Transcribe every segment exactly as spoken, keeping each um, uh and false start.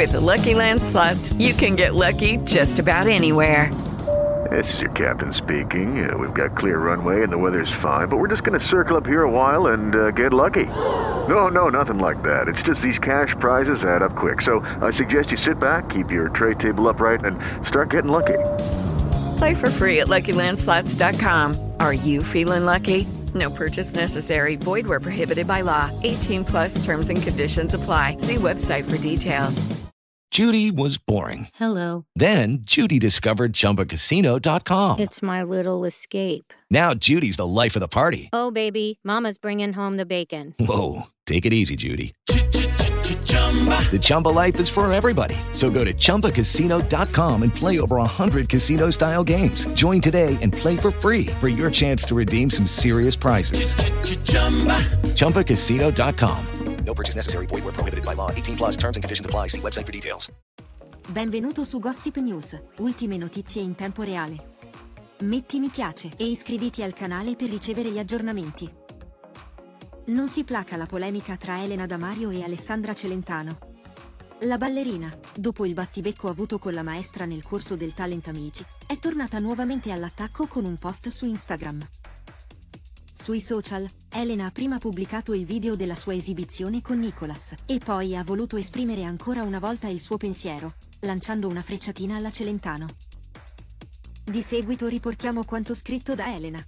With Lucky Land Slots, you can get lucky just about anywhere. This is your captain speaking. Uh, we've got clear runway and the weather's fine, but we're just going to circle up here a while and uh, get lucky. No, no, nothing like that. It's just these cash prizes add up quick. So I suggest you sit back, keep your tray table upright, and start getting lucky. Play for free at Lucky Land Slots dot com. Are you feeling lucky? No purchase necessary. Void where prohibited by law. eighteen plus terms and conditions apply. See website for details. Judy was boring. Hello. Then Judy discovered Chumba Casino dot com. It's my little escape. Now Judy's the life of the party. Oh, baby, mama's bringing home the bacon. Whoa, take it easy, Judy. The Chumba life is for everybody. So go to Chumba Casino dot com and play over one hundred casino-style games. Join today and play for free for your chance to redeem some serious prizes. Chumba Casino dot com. No purchase necessary. Void where prohibited by law. eighteen plus terms and conditions apply. See website for details. Benvenuto su Gossip News, ultime notizie in tempo reale. Metti mi piace e iscriviti al canale per ricevere gli aggiornamenti. Non si placa la polemica tra Elena Damario e Alessandra Celentano. La ballerina, dopo il battibecco avuto con la maestra nel corso del Talent Amici, è tornata nuovamente all'attacco con un post su Instagram. Sui social, Elena ha prima pubblicato il video della sua esibizione con Nicolas e poi ha voluto esprimere ancora una volta il suo pensiero, lanciando una frecciatina alla Celentano. Di seguito riportiamo quanto scritto da Elena.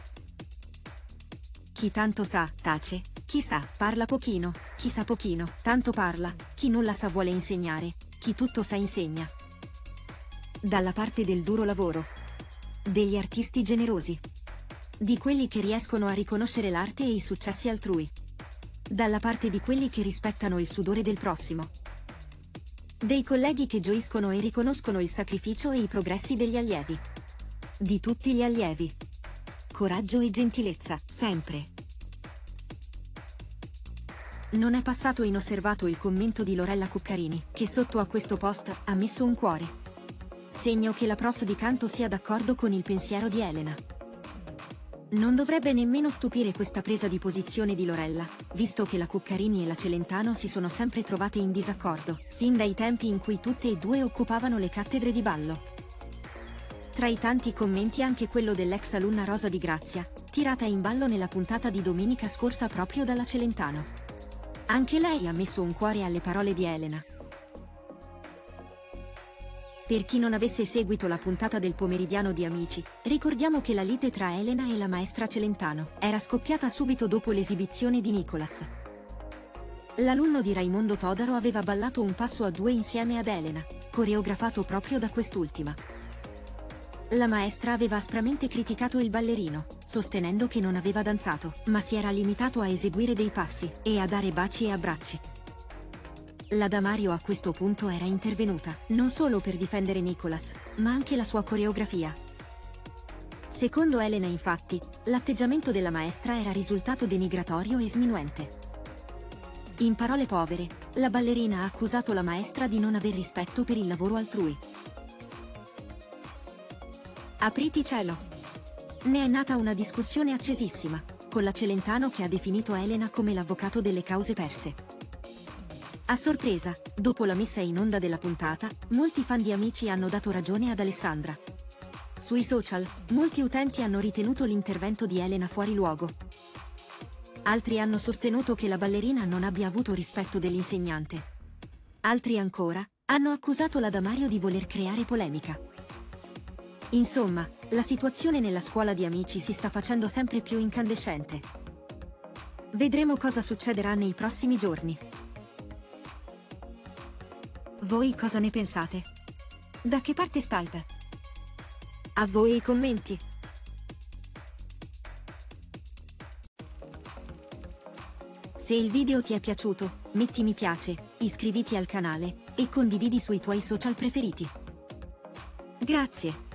Chi tanto sa, tace, chi sa, parla pochino, chi sa pochino, tanto parla, chi nulla sa vuole insegnare, chi tutto sa insegna. Dalla parte del duro lavoro. Degli artisti generosi. Di quelli che riescono a riconoscere l'arte e i successi altrui. Dalla parte di quelli che rispettano il sudore del prossimo. Dei colleghi che gioiscono e riconoscono il sacrificio e i progressi degli allievi. Di tutti gli allievi. Coraggio e gentilezza, sempre. Non è passato inosservato il commento di Lorella Cuccarini, che sotto a questo post ha messo un cuore. Segno che la prof di canto sia d'accordo con il pensiero di Elena. Non dovrebbe nemmeno stupire questa presa di posizione di Lorella, visto che la Cuccarini e la Celentano si sono sempre trovate in disaccordo, sin dai tempi in cui tutte e due occupavano le cattedre di ballo. Tra i tanti commenti anche quello dell'ex alunna Rosa Di Grazia, tirata in ballo nella puntata di domenica scorsa proprio dalla Celentano. Anche lei ha messo un cuore alle parole di Elena. Per chi non avesse seguito la puntata del pomeridiano di Amici, ricordiamo che la lite tra Elena e la maestra Celentano era scoppiata subito dopo l'esibizione di Nicolas. L'alunno di Raimondo Todaro aveva ballato un passo a due insieme ad Elena, coreografato proprio da quest'ultima. La maestra aveva aspramente criticato il ballerino, sostenendo che non aveva danzato, ma si era limitato a eseguire dei passi e a dare baci e abbracci. La Damario a questo punto era intervenuta, non solo per difendere Nicolas, ma anche la sua coreografia. Secondo Elena, infatti, l'atteggiamento della maestra era risultato denigratorio e sminuente. In parole povere, la ballerina ha accusato la maestra di non aver rispetto per il lavoro altrui. Apriti cielo! Ne è nata una discussione accesissima, con la Celentano che ha definito Elena come l'avvocato delle cause perse. A sorpresa, dopo la messa in onda della puntata, molti fan di Amici hanno dato ragione ad Alessandra. Sui social, molti utenti hanno ritenuto l'intervento di Elena fuori luogo. Altri hanno sostenuto che la ballerina non abbia avuto rispetto dell'insegnante. Altri ancora, hanno accusato la Damario di voler creare polemica. Insomma, la situazione nella scuola di Amici si sta facendo sempre più incandescente. Vedremo cosa succederà nei prossimi giorni. Voi cosa ne pensate? Da che parte state? A voi i commenti. Se il video ti è piaciuto, metti mi piace, iscriviti al canale e condividi sui tuoi social preferiti. Grazie.